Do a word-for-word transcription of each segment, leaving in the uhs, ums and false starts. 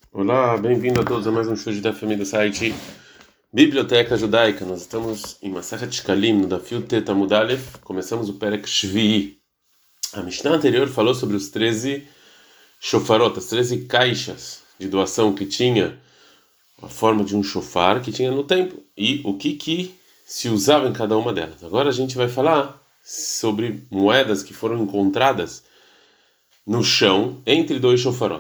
Olá, bem-vindo a todos a mais um show da família do site Biblioteca Judaica. Nós estamos em Masechet Shkalim, no Daf Tet Amud Aleph. Começamos o Perek Shvi'i. A Mishnah anterior falou sobre os treze shofarot, as treze caixas de doação que tinha a forma de um shofar que tinha no templo e o que que se usava em cada uma delas. Agora a gente vai falar sobre moedas que foram encontradas no chão entre dois shofarot.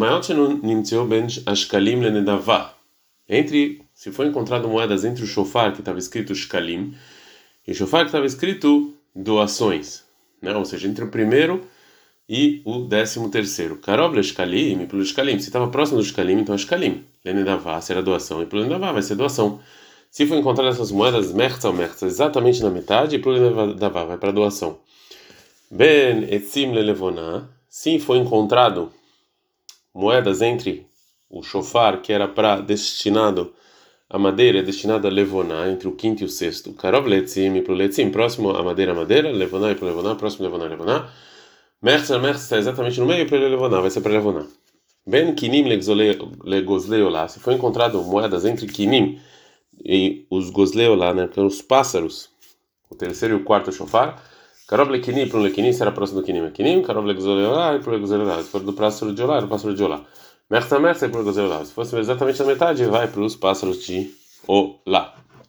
Entre, se foi encontrado moedas entre o shofar que estava escrito shkalim e o shofar que estava escrito doações, né? Ou seja, entre o primeiro e o décimo terceiro. Karov le shkalim e pelo shkalim. Se estava próximo do shkalim, então é shkalim. Lenedavá será doação e pelo lenedavá vai ser doação. Se foi encontrado essas moedas mertza ou mertza exatamente na metade, e pelo lenedavá vai para doação. Ben etzim lelevona. Se foi encontrado moedas entre o shofar, que era para destinado a madeira, destinado a levoná, entre o quinto e o sexto. Karov letzim e pro letzim, próximo a madeira, madeira, levoná e pro levoná, próximo levoná, levoná. Mertza, mertza está exatamente no meio e pro levoná, vai ser para levoná. Ben kinim legozleolá. Se foi encontrado moedas entre kinim e os gozleolá, né, que são os pássaros, o terceiro e o quarto shofar. Karov lekini para um lekini será próximo do kinim é kinim, karov legozleolá e pro legozleolá. Se for do pássaro de olá, é do pássaro de olá. Merta, merta e pro legozleolá. Se fosse exatamente na metade, vai para os pássaros de olá.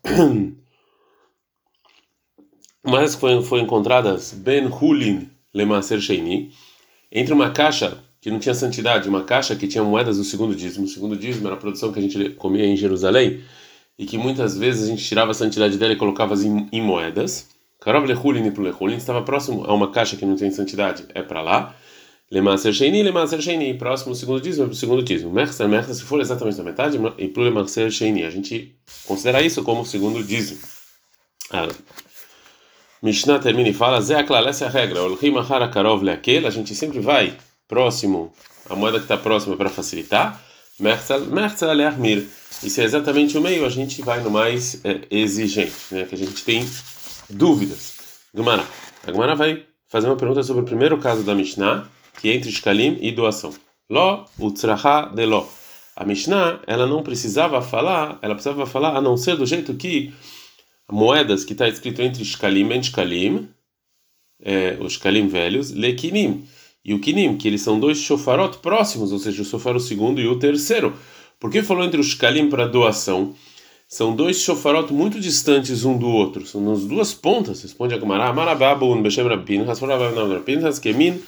Mas foi, foi encontradas ben hulin lemaser sheini, entre uma caixa que não tinha santidade, uma caixa que tinha moedas do segundo dízimo. O segundo dízimo era a produção que a gente comia em Jerusalém e que muitas vezes a gente tirava a santidade dela e colocava em, em moedas. Karov lehulin e pro lehulin estava próximo a uma caixa que não tem santidade, é para lá. Lemaser sheini, lemaser sheini, próximo ao segundo dízimo, é para o segundo dízimo. Merta, merta, se for exatamente na metade, e pro lemaser sheini, a gente considera isso como o segundo dízimo. Ah, Mishnah termina e fala: Zé aklal, essa é a regra. Olchim achar karov leakel, a gente sempre vai próximo, a moeda que está próxima para facilitar. Merta, merta leachmir. E se é exatamente o meio, a gente vai no mais é, exigente, né? Que a gente tem dúvidas. Gemara. A Gemara vai fazer uma pergunta sobre o primeiro caso da Mishnah, que é entre shkalim e doação. Lo utzraha de lo. A Mishnah, ela não precisava falar, ela precisava falar a não ser do jeito que moedas que está escrito entre shkalim e shkalim, é, os shkalim velhos, lekinim e o kinim, que eles são dois shofarot próximos, ou seja, o shofar o segundo e o terceiro. Por que falou entre os shkalim para doação? São dois shofarot muito distantes um do outro, são nas duas pontas. Responde a Gemara: Marababun beshem Rabbin, Hasforababun Rabbin, Haskemin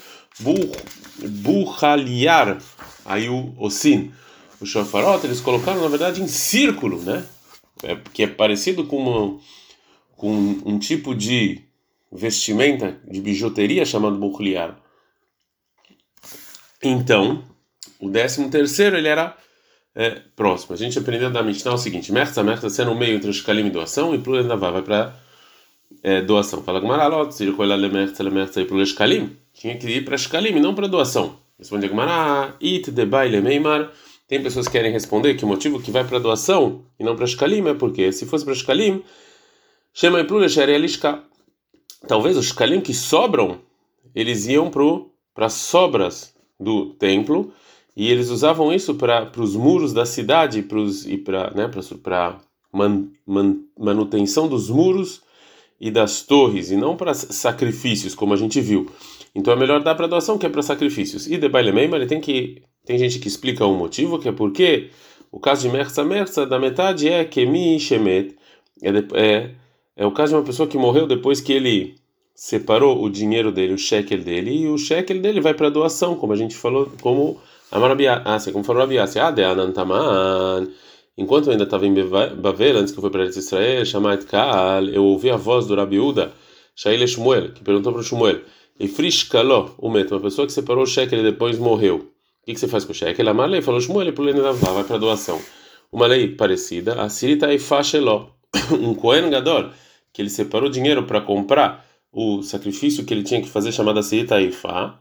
buchaliar, aí o osin. Os shofarot eles colocaram na verdade em círculo, né? É, que é parecido com, uma, com um tipo de vestimenta de bijuteria chamado buchliar. Então, o décimo terceiro ele era é, próximo. A gente aprendeu da Mishnah o seguinte: merta, merta, sendo no meio entre o shkalim e doação, e plura navá vai para é, doação. Fala Gmaralot, se ele le merta, le merta e plura shkalim, tinha que ir para shkalim e não para doação. Responde a Gmará: it de baile meimar. Tem pessoas que querem responder que o motivo que vai para doação e não para shkalim é porque se fosse para shkalim, chama e plura sherelishka. Talvez os shkalim que sobram, eles iam para as sobras do templo e eles usavam isso para os muros da cidade pros, e para né, para man, man, manutenção dos muros e das torres e não para sacrifícios, como a gente viu. Então é melhor dar para doação que é para sacrifícios. E de baile meima, ele tem que tem gente que explica o motivo, que é porque o caso de merza merza da metade é kemi shemet, é, é é o caso de uma pessoa que morreu depois que ele separou o dinheiro dele, o shekel dele, e o shekel dele vai para doação, como a gente falou, como a Marabiácia, como falou a Rabiácia, ah, de Anantaman. Enquanto eu ainda estava em Bavel, antes que eu fui para Israel, Shamat Kaal, eu ouvi a voz do Rabiúda, Shaile Shmuel, que perguntou para o Shmuel, e Frishkaló, o meto, uma pessoa que separou o shekel e depois morreu. O que, que você faz com o shekel? A Marley falou Shmuel, e pulei na vai para doação. Uma lei parecida, a Sirita e Fasheló, um Kohen Gadol, que ele separou dinheiro para comprar o sacrifício que ele tinha que fazer, chamado Sirita e Fá.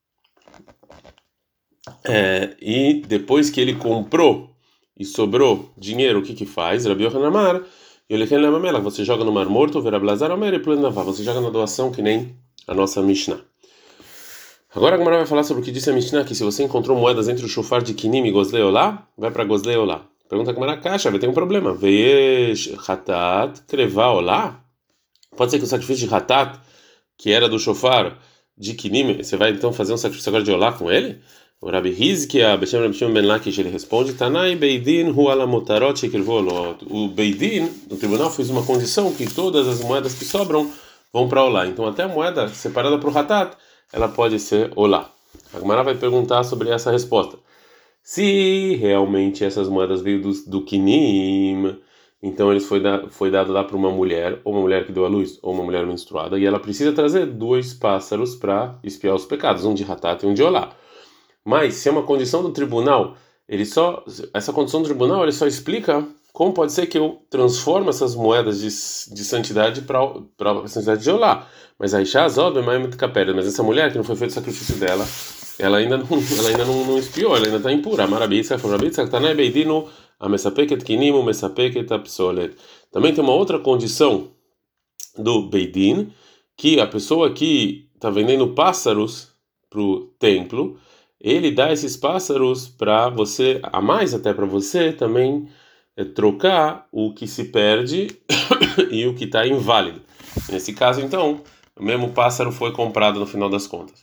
É, e depois que ele comprou e sobrou dinheiro, o que que faz? Rabi Yochanan Amar, você joga no Mar Morto, Verablazar Omer e Plenavá, você joga na doação que nem a nossa Mishnah. Agora a Gemara vai falar sobre o que disse a Mishnah, que se você encontrou moedas entre o shofar de Kinim e Gozlei Olá, vai para Gozlei Olá. Pergunta a Gemara, caixa, vai ter um problema. Veiesh Hatat Kreva Olá? Pode ser que o sacrifício de Hatat, que era do shofar de Kinim, você vai então fazer um sacrifício agora de Olá com ele? O Rabi Hizkia, Beshem Rabi Shimon ben Lakish, ele responde, Tanai Beidin hu ala motarot shekrvu olot. O Beidin, no tribunal, fez uma condição que todas as moedas que sobram vão para Olá. Então até a moeda separada para o Hatat, ela pode ser Olá. A Gemara vai perguntar sobre essa resposta. Se realmente essas moedas veio do, do Kinim, então eles foi, da, foi dado lá para uma mulher, ou uma mulher que deu à luz, ou uma mulher menstruada, e ela precisa trazer dois pássaros para expiar os pecados, um de Hatat e um de Olá. Mas se é uma condição do tribunal, ele só essa condição do tribunal ele só explica como pode ser que eu transforme essas moedas de, de santidade para a santidade de Olá. Mas a Isha Azod, mas essa mulher que não foi feito o sacrifício dela, ela ainda não, ela ainda não, não expiou, ela ainda está impura. Marabitza, Forabitza, Tanai Beidino, a Mesapeket Kinimo, Mesapeket Apsolet. Também tem uma outra condição do Beidin, que a pessoa que está vendendo pássaros para o templo, ele dá esses pássaros para você, a mais até para você também é, trocar o que se perde e o que está inválido. Nesse caso, então, o mesmo pássaro foi comprado no final das contas.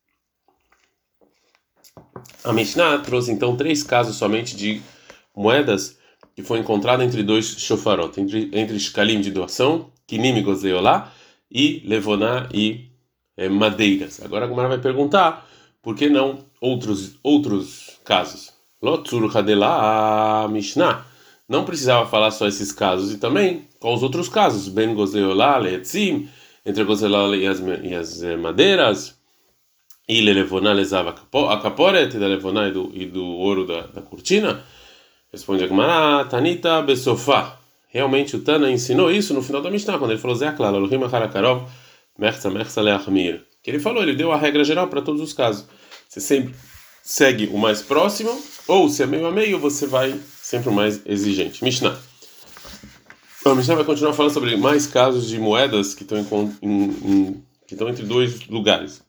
A Mishnah trouxe então três casos somente de moedas que foi encontrada entre dois shofarot, entre entre shkalim de doação, kinim e gozei olá, e levoná e é, madeiras. Agora a Gemara vai perguntar por que não outros outros casos. Lotzur hadela Mishnah não precisava falar só esses casos e também quais os outros casos, ben gozei olá leetzim, entre gozei olá e as, e as é, madeiras, e levoná lezava a caporet da levoná e do, e do ouro da, da cortina. Responde a Gemara, Tanita besofá. Realmente o Tana ensinou isso no final da Mishnah, quando ele falou Zé Aklal, Elohim Harakarov, Merza Merza Leachmir. Que ele falou, ele deu a regra geral para todos os casos. Você sempre segue o mais próximo, ou se é meio a meio, você vai sempre o mais exigente. Mishnah. A Mishnah vai continuar falando sobre mais casos de moedas que estão em, em, em, que estão entre dois lugares.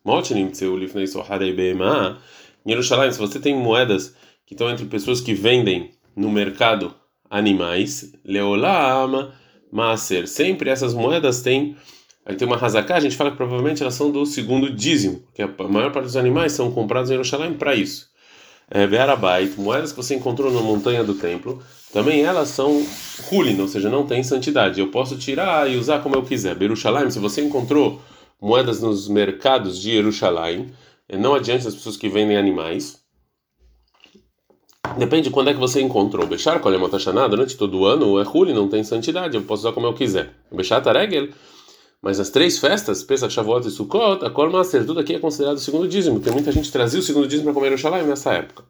Em Jerusalém, se você tem moedas que estão entre pessoas que vendem no mercado animais, leolam maaser. Sempre essas moedas têm, aí tem uma hazaká, a gente fala que provavelmente elas são do segundo dízimo, porque a maior parte dos animais são comprados em Jerusalém para isso. É, Be'arabait, moedas que você encontrou na montanha do templo, também elas são hulin, ou seja, não tem santidade. Eu posso tirar e usar como eu quiser. Jerusalém, se você encontrou moedas nos mercados de Jerusalém, não adianta as pessoas que vendem animais. Depende de quando é que você encontrou. Bechar, qual é uma taxaná, durante todo o ano, é Huli, não tem santidade, eu posso usar como eu quiser. Bechar taregel, mas as três festas, Pesach, Shavuot e Sukkot, a Kol Maser, tudo aqui é considerado o segundo dízimo, porque muita gente trazia o segundo dízimo para comer Yerushalayim nessa época.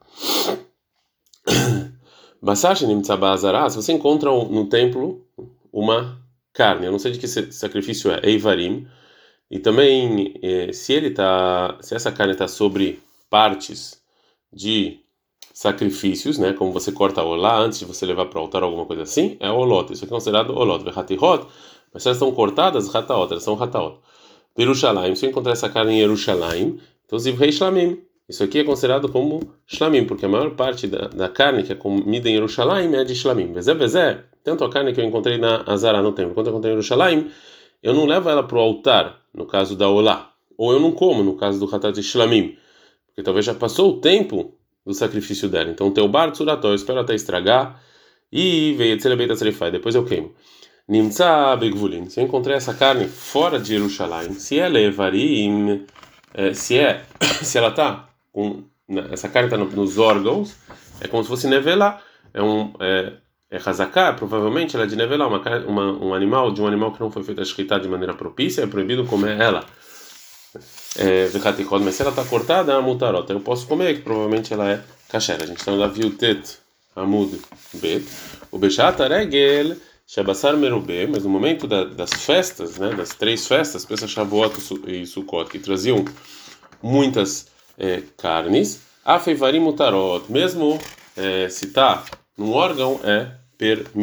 Basash Nimtzabah Azará, se você encontra no templo uma carne, eu não sei de que sacrifício é, Eivarim, e também se ele tá, se essa carne está sobre partes de sacrifícios, né, como você corta a olá antes de você levar para o altar alguma coisa assim, é olot, isso aqui é considerado olot, vehatihot, mas se elas estão cortadas, hataot, elas são hataot. Yerushalayim, se eu encontrar essa carne em Yerushalayim, então zivrei shlamim, isso aqui é considerado como shlamim, porque a maior parte da, da carne que é comida em Yerushalayim é de shlamim. Vezé, vezé, tanto a carne que eu encontrei na Azara no templo, quanto eu encontrei em Yerushalayim, eu não levo ela para o altar, no caso da olá, ou eu não como, no caso do hatat de shlamim, porque talvez já passou o tempo do sacrifício dela. Então, o teu bar tzurató, eu espero até estragar e veio tzelebeit atzerifai, depois eu queimo. Nimtza begvulin, se eu encontrei essa carne fora de Jerusalém, se ela é varim, se é, se ela tá com essa carne está nos órgãos, é como se fosse nevelá, é um é, é hazaká, provavelmente ela é de nevelá, uma, uma um animal de um animal que não foi feito a shkita de maneira propícia, é proibido comer ela. É, mas se ela está cortada, a mutarota eu posso comer, que provavelmente ela é kasher. A gente está lá viu tet amud bet o bechata regel shabassar merubê, mas no momento da, das festas, né, das três festas, Pesach, Shavuot e Sukkot, que traziam muitas é, carnes, afeivarim mutarot, mesmo é, se está num órgão é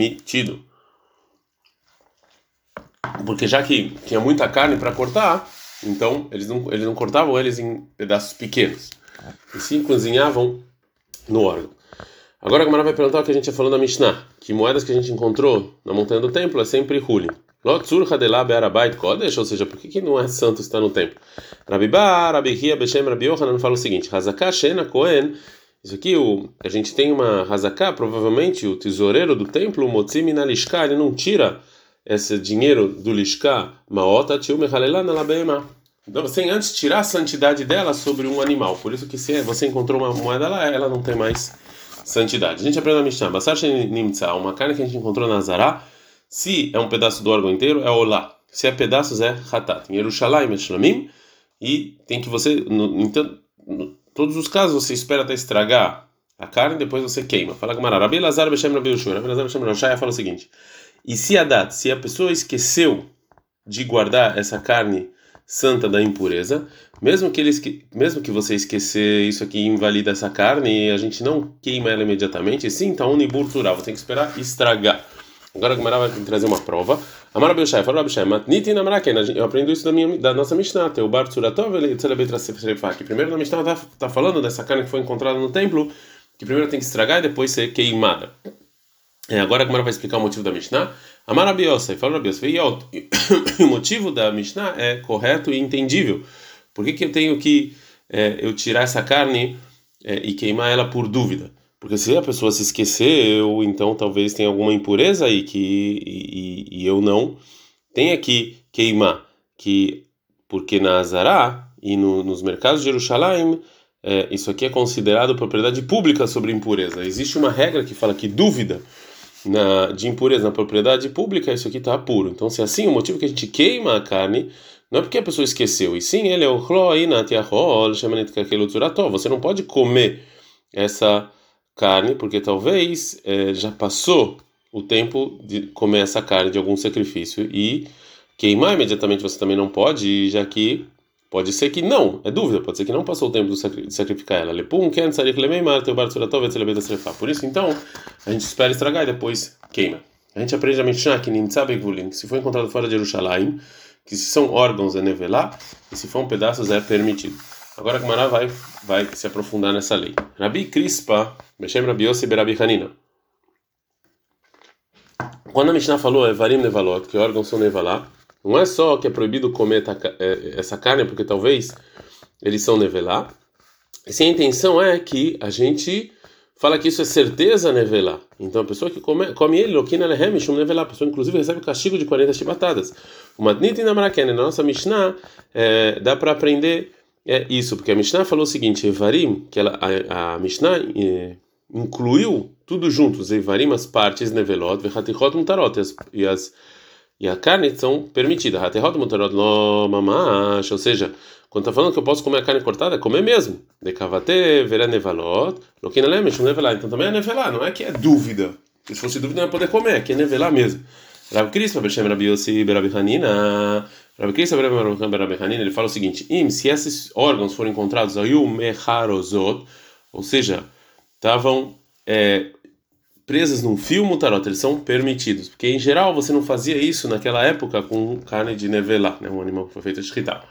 permitido, porque já que tinha muita carne para cortar, Então, eles não, eles não cortavam eles em pedaços pequenos, e sim cozinhavam no órgão. Agora a Gemara vai perguntar o que a gente já falou na Mishnah, que moedas que a gente encontrou na montanha do templo é sempre hulin. Lotzur hadelá be'arabait kodesh, ou seja, por que, que não é santo estar no templo? Rabibá, Rabihia, Beshem, Rabi Yohanan fala o seguinte: Hazaká, Shena, Kohen. Isso aqui, o, a gente tem uma Hazaká, provavelmente o tesoureiro do templo, o Motzi min alishká, ele não tira esse dinheiro do lishká, Maota, Tiu, Mechalelá, Nalabema. Então, sem antes tirar a santidade dela sobre um animal. Por isso que se você encontrou uma moeda lá, ela não tem mais santidade. A gente aprende na Mishnah, Basar Nimtza, uma carne que a gente encontrou na Zará, se é um pedaço do órgão inteiro, é olá. Se é pedaços, é hatat. Em Yerushalayim, Shlamim, e tem que você, no, então, em todos os casos, você espera até estragar a carne, depois você queima. Fala Gemara, Rabi Lazar Beshem Rabi Yoshua. Rabi Lazar Beshem Rabi Yoshua fala o seguinte: e se a dat, se a pessoa esqueceu de guardar essa carne santa da impureza, mesmo que ele mesmo que você esquecer isso aqui invalida essa carne, a gente não queima ela imediatamente, sim, tá unibur tural, você tem que esperar estragar. Agora a Gemara vai trazer uma prova. Amar Abishai, fala Abishai, matniti na maraken, eu aprendo isso da minha da nossa Mishnah, teu bar tsuratov ele celebra que primeiro na Mishnah tá, tá falando dessa carne que foi encontrada no templo, que primeiro tem que estragar e depois ser queimada. É, agora a Gemara vai explicar o motivo da Mishnah. Amar Rabi Yosef, fala Rabi Yosef, o motivo da Mishnah é correto e entendível. Por que que eu tenho que é, eu tirar essa carne é, e queimar ela por dúvida? Porque se a pessoa se esqueceu, então talvez tenha alguma impureza aí que e, e, e eu não tenha que queimar, que porque na Azará e no, nos mercados de Jerusalém é, isso aqui é considerado propriedade pública sobre impureza. Existe uma regra que fala que dúvida na, de impureza na propriedade pública, isso aqui está puro. Então, se é assim, o motivo que a gente queima a carne não é porque a pessoa esqueceu, e sim, ele é o você não pode comer essa carne, porque talvez é, já passou o tempo de comer essa carne de algum sacrifício, e queimar imediatamente você também não pode, já que pode ser que não, é dúvida, pode ser que não passou o tempo de sacrificar ela. Por isso, então, a gente espera estragar e depois queima. A gente aprende a Mishnah que se for encontrado fora de Jerusalém, que se são órgãos é nevelá, e se for pedaços é permitido. Agora a Gemara vai, vai se aprofundar nessa lei. Rabi Crispa, Beshem Rabi Yossi Berabi Hanina. Quando a Mishnah falou Evarim Nevalot, que órgãos são nevalá, não é só que é proibido comer essa carne, porque talvez eles são nevelá. E sim, a intenção é que a gente fala que isso é certeza nevelá. Então a pessoa que come, come ele, lokina lehem shum nevelá, a pessoa inclusive recebe o castigo de quarenta chibatadas. O matniti na maraken, na nossa Mishnah, é, dá para aprender é, isso, porque a Mishnah falou o seguinte: Evarim, que ela, a, a Mishnah é, incluiu tudo junto, os Evarim, as partes nevelot, vechatichot mutarot, e as, e as E a carne são permitidas. Ou seja, quando está falando que eu posso comer a carne cortada, é comer mesmo. Decavate, vera nevalot, loquina lemesh, nevelá. Então também é nevelá, não é que é dúvida. Se fosse dúvida, não ia poder comer, aqui é nevelá mesmo. Rabi Crispa, Beshem Rabi Yossi, Berabi Hanina. Rabi Crispa, Berabi Hanina, ele fala o seguinte: Im, se esses órgãos foram encontrados, ayu mecharozot, ou seja, estavam. É, presas num fio mutarot, eles são permitidos, porque em geral você não fazia isso naquela época com carne de nevelá, né, um animal que foi feito de shchita.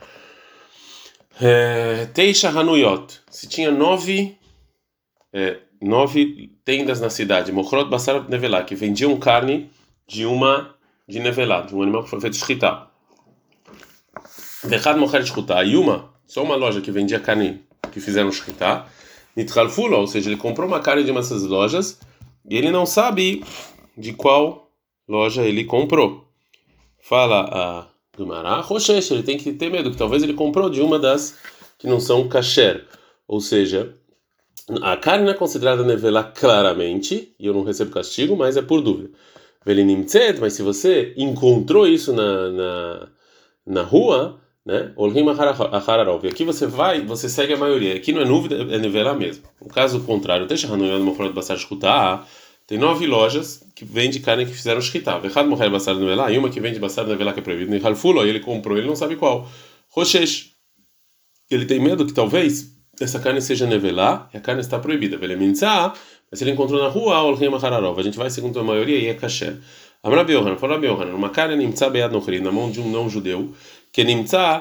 Teisha hanuyot, se tinha nove é, nove tendas na cidade, mochrot basar nevelá, que vendiam carne de uma de nevelá, de um animal que foi feito de shchita. Vechad mocher shchuta, e uma, só uma loja que vendia carne que fizeram shchita, nitchalfulo, ou seja, ele comprou uma carne de uma dessas lojas e ele não sabe de qual loja ele comprou. Fala a Gemara, Roshesh, ele tem que ter medo, que talvez ele comprou de uma das que não são kasher. Ou seja, a carne não é considerada nevelá claramente, e eu não recebo castigo, mas é por dúvida. Velinimtzet, mas se você encontrou isso na, na, na rua, né? Olhim achararov. Aqui você vai, você segue a maioria. Aqui não é dúvida, é nevelá mesmo. No caso contrário, deixa Hanuyan Mochrot Basar Shchuta. Tem nove lojas que vendem carne que fizeram shchita. Vechad Mocher Basar Nevelá, e uma que vende Basar Nevelá que é proibido. E Halfulo, ele comprou, ele não sabe qual. Roshesh, ele tem medo que talvez essa carne seja nevelá e a carne está proibida. Velemintzá, mas se ele encontrou na rua, Olhim achararov. A gente vai segundo a maioria e é kasher. Amar Rabi Yohanan, fala Rabi Yohanan, uma carne nimtzá beyad nochri, na mão de um não judeu, que nimtzá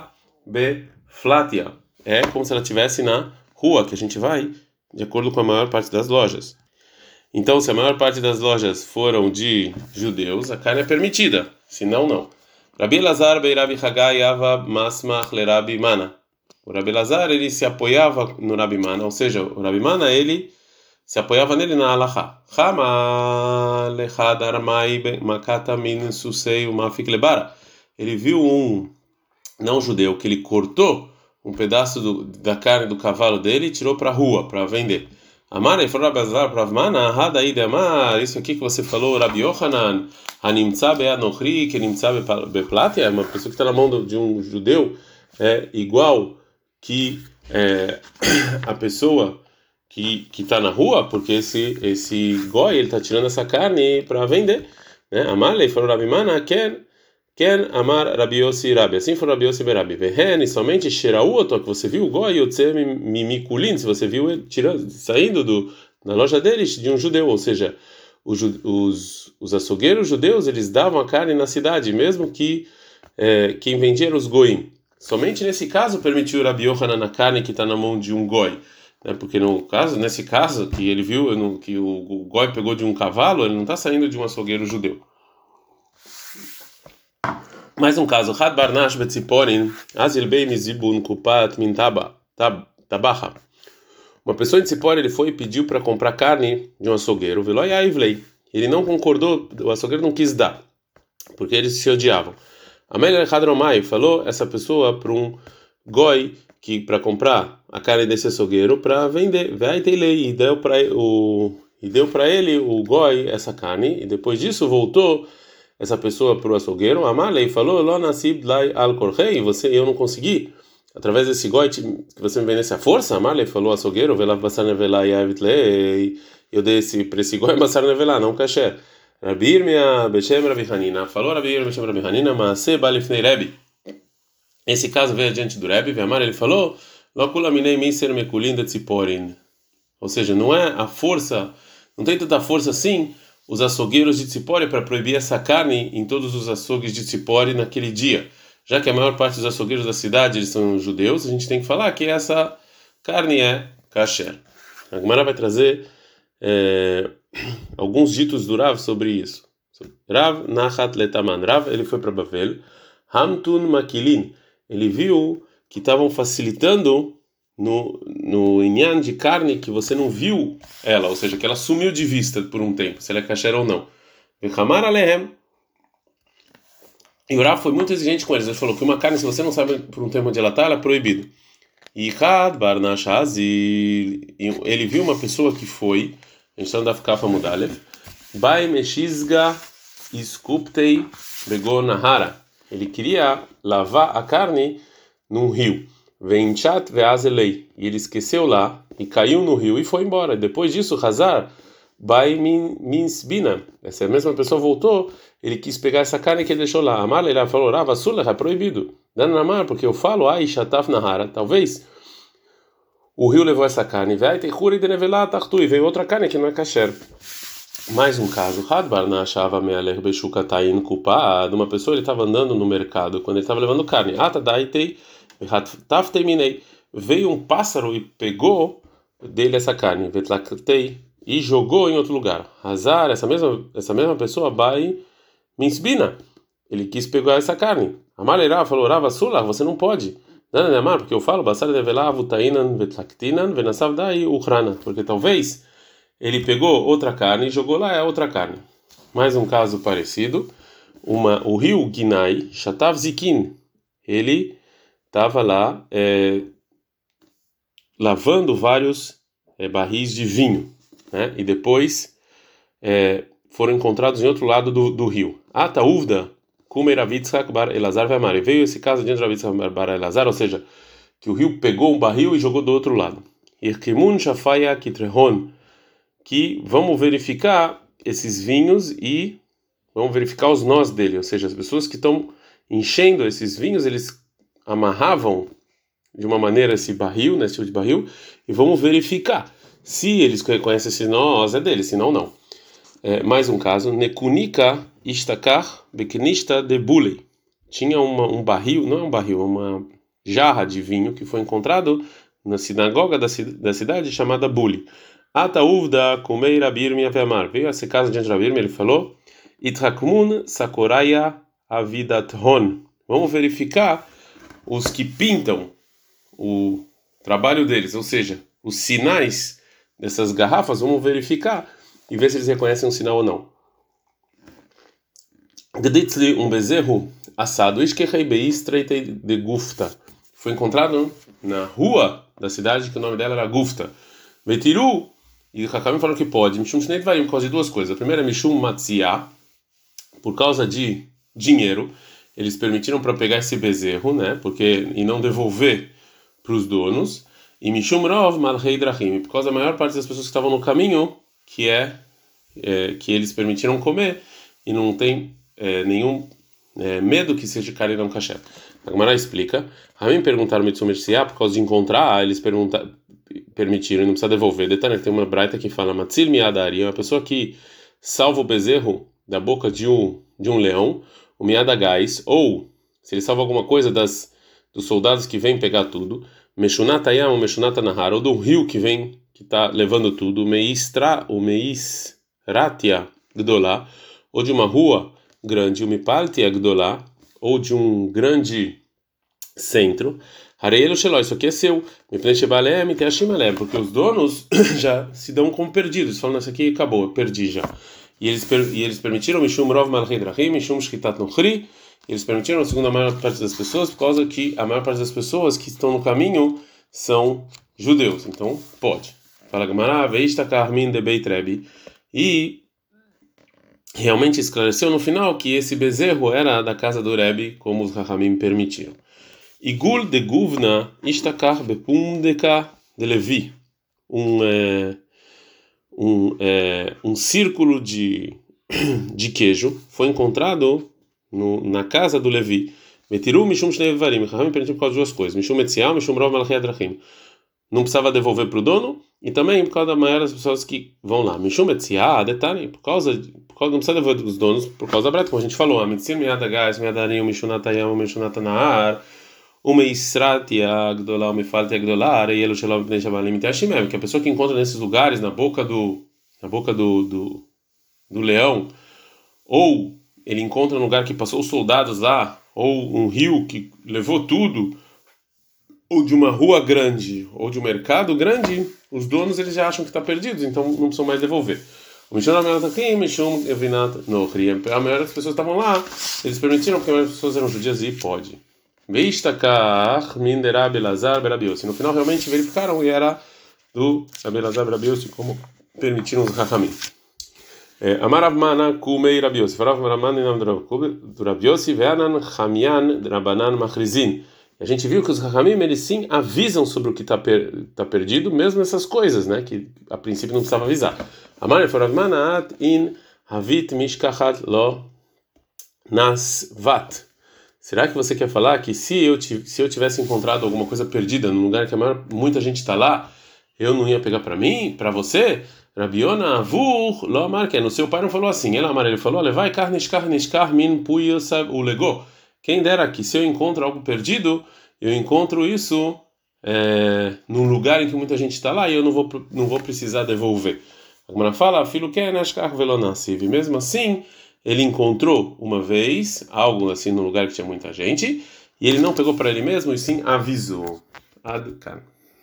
beflatia. É como se ela estivesse na rua, que a gente vai de acordo com a maior parte das lojas. Então, se a maior parte das lojas foram de judeus, a carne é permitida, senão não. Rabi Elazar bei Rabi Hagai ava masmach le Rabi Mana. O Rabi Elazar, ele se apoiava no Rabi Mana, ou seja, o Rabi Mana, ele se apoiava nele na halakha. Chama lechad armai makata min susei umafik lebara. Ele viu um não judeu que ele cortou um pedaço do, da carne do cavalo dele e tirou para a rua para vender. Amar, ele falou Rabi Elazar para Mana, hada ide amar, isso aqui que você falou, Rabi Yochanan, hanimtza be'anochri, que nimtza beplatia, é uma pessoa que está na mão de um judeu, é igual que é, a pessoa que que está na rua, porque esse esse goi ele está tirando essa carne para vender, né? Amar, ele falou Rabi Mana, ken ken amar Rabi Yossi Rabi, assim foi Rabi Yossi Berabi. Vehen, somente Shirauoto, que você viu o goi Yotze Mimikulin, se você viu ele tirando, saindo do na loja deles de um judeu, ou seja, os os, os açougueiros judeus eles davam a carne na cidade, mesmo que é, quem vendia era os goim. Somente nesse caso permitiu Rabi Yochanan na carne que está na mão de um goi, né? Porque no caso, nesse caso que ele viu no, que o, o goi pegou de um cavalo, ele não está saindo de um açougueiro judeu. Mais um caso, Had Barnash Betziporin, Azil Bey Mizibun Kupat Mintaba Tabaha. Uma pessoa em Tzipor, ele foi e pediu para comprar carne de um açougueiro, Veloy Aivlei. Ele não concordou, o açougueiro não quis dar, porque eles se odiavam. Amélia Hadromai falou essa pessoa para um goi que para comprar a carne desse açougueiro para vender, vai ter lei e deu para o e deu para ele o goi essa carne e depois disso voltou essa pessoa para o açougueiro, Amalei falou, Lo nasib lai al korhei, você eu não consegui através desse goi que você me vendesse a força, Amalei falou açougueiro, velav basar nevelá yavitlei, eu dei esse para esse goi basar nevelá, não kasher. Rabi Irmia Beshem Rabi Hanina falou Rabi Irmia Beshem Rabi Hanina Maaseh Balifnei Rebbe. Esse caso veio adiante do Rebbe, Ve'amar, ele falou Lo kula minei miser mekulin de tziporin. Ou seja, não é a força, não tem tanta força assim os açougueiros de Tzipori para proibir essa carne em todos os açougues de Tzipori naquele dia. Já que a maior parte dos açougueiros da cidade eles são judeus, a gente tem que falar que essa carne é kasher. A Gemara vai trazer é, alguns ditos do Rav sobre isso. Rav Nachat Letaman. Rav, ele foi para Bavel. Hamtun Makilin. Ele viu que estavam facilitando no no inyan de carne que você não viu ela, ou seja, que ela sumiu de vista por um tempo, se ela é kasher ou não. Vechamar alehem. E o Rav foi muito exigente com eles. Ele falou que uma carne, se você não sabe por um tempo onde ela está, ela é proibida. E Had Barnashazil, ele viu uma pessoa que foi, a gente está andando a ficar para Mudalev, Bai Meshizga Iskuptei Begonahara. Ele queria lavar a carne num rio. Venchat veazelei. E ele esqueceu lá e caiu no rio e foi embora. Depois disso, Hazar Bai Minsbina. Essa mesma pessoa voltou, ele quis pegar essa carne que ele deixou lá. Amar, ele falou, Rava Sula, é proibido. Dando na mar, porque eu falo, ai, Shataf Nahara. Talvez o rio levou essa carne. Vai ter cura e denevelá, tartu. E veio outra carne que não é kasher. Mais um caso, Hadbar na achava mealer beshukatain kupad. Uma pessoa ele estava andando no mercado quando ele estava levando carne. Ata daitei, taftei minei. Veio um pássaro e pegou dele essa carne. Vetlaktei e jogou em outro lugar. Hazar, essa mesma essa mesma pessoa, bai minsbina. Ele quis pegar essa carne. Amalera falou, Rava Sula, você não pode. Não, não, não, porque eu falo, basar develá avutainan vetlaktinan venasav dai uchrana. Porque talvez ele pegou outra carne e jogou lá é outra carne. Mais um caso parecido. Uma, o rio Ginai, Shatav Zikin, ele estava lá é, lavando vários é, barris de vinho, né? E depois é, foram encontrados em outro lado do, do rio. Ata uvda kumeravitzak bar Elazar ve'amar. E veio esse caso diante de Ravitzak bar Elazar, ou seja, que o rio pegou um barril e jogou do outro lado. Irkimun shafaya kitrehon, que vamos verificar esses vinhos e vamos verificar os nós dele, ou seja, as pessoas que estão enchendo esses vinhos, eles amarravam de uma maneira esse barril, nesse tipo de barril, e vamos verificar se eles conhecem esse nós é deles, senão não. É, mais um caso, Nekunika Istakar Beknista de Bulei. Tinha uma, um barril, não é um barril, é uma jarra de vinho que foi encontrado na sinagoga da, da cidade chamada Buli. Atauvda kumei Rabir miavemar. Veio a essa casa diante de Rabir, ele falou: Itrakmun sakoraya avidathon. Vamos verificar os que pintam o trabalho deles, ou seja, os sinais dessas garrafas, vamos verificar e ver se eles reconhecem um sinal ou não. Gditzli um bezerro assado, ishkechei beistreitei de Gufta. Foi encontrado na rua da cidade, que o nome dela era Gufta. Vetiru, e o Hakamim falou que pode. Mishum Shnei Dvarim, por causa de duas coisas. A primeira é Mishum Matzia, por causa de dinheiro. Eles permitiram para pegar esse bezerro, né? Porque e não devolver para os donos. E Mishum Rov Malhei Drachim, por causa da maior parte das pessoas que estavam no caminho, que é, é que eles permitiram comer e não tem é, nenhum é, medo que seja carne não kasher. A Gemara explica. Ramim perguntaram Mitsum Merciá, por causa de encontrar, eles perguntaram, permitiram e não precisa devolver. Detalhe, tem uma braita que fala Matzil Miadari, uma pessoa que salva o bezerro da boca de um de um leão, o Miadagais, ou se ele salva alguma coisa das dos soldados que vêm pegar tudo, Meshunata Yam, Meshunata Nahar, ou do rio que vem que está levando tudo, Meistra, o Meisratia Gdolá, ou de uma rua grande, o Mipaltia Gdolá, ou de um grande centro. Hareelo Sheló, isso aqui é seu. Porque os donos já se dão como perdidos. Falam, isso aqui acabou, eu perdi já. E eles, e eles permitiram Mishum Rov Malchei Drachim, Mishum Shchitat Nochri. Eles permitiram, segundo a maior parte das pessoas, por causa que a maior parte das pessoas que estão no caminho são judeus. Então, pode. Fala Gemara, Veista Karmin de Beit Rebbe. E realmente esclareceu no final que esse bezerro era da casa do Rebbe, como os Rahamim permitiram. Igul de Guvna Ishtakar Bepundeka de Levi. Um, é, um, é, um círculo de, de queijo foi encontrado no, na casa do Levi. Metiru Mishum Shnei Varim. Rahamim permitiu por causa de duas coisas. Mishum Metzial, Mishum Rov Malchei Adrachim. Não precisava devolver para o dono, e também por causa da maioria das pessoas que vão lá. Mishum Etziah, detalhe, por causa, por causa não precisa devolver dos donos, por causa da breta, como a gente falou, a Mitzir Miadagás, Miadarim, Mishunatayam, Mishunatanaar, o Meisratia Gdolá, o Mefaltia Gdolá, Areielo Shalom Pnei Shabalim Itashimem, que a pessoa que encontra nesses lugares, na boca do, na boca do, do, do leão, ou ele encontra um lugar que passou os soldados lá, ou um rio que levou tudo, ou de uma rua grande, ou de um mercado grande, os donos eles já acham que está perdidos, então não precisam mais devolver. A maioria das pessoas estavam lá, eles permitiram, porque a maioria das pessoas eram judias e pode. No final realmente verificaram e era do Abelazar Berabiose, como permitiram os Rahamim. Amarav Mana Kumei Rabiose, Farav Maraman em nome do Rabiose, Veanan Chamian Rabanan Machrizin. A gente viu que os Rahamim, eles sim avisam sobre o que está per, tá perdido, mesmo essas coisas, né, que a princípio não precisava avisar. Amar Farav Manaat in Havit Mishkachat Lo Nasvat. Será que você quer falar que se eu, se eu tivesse encontrado alguma coisa perdida num lugar que a maior, muita gente está lá, eu não ia pegar para mim, para você? Rabiona Avur Lo Amar, que no seu pai não falou assim. Ele Amar, ele falou: levai carnishkar nishkar min puyosab o legó. Quem dera que se eu encontro algo perdido, eu encontro isso é, num lugar em que muita gente está lá e eu não vou não vou precisar devolver. A Gemara fala: filho que nashkar velonasiv. Mesmo assim, ele encontrou uma vez algo assim num lugar que tinha muita gente e ele não pegou para ele mesmo e sim avisou. Adkan.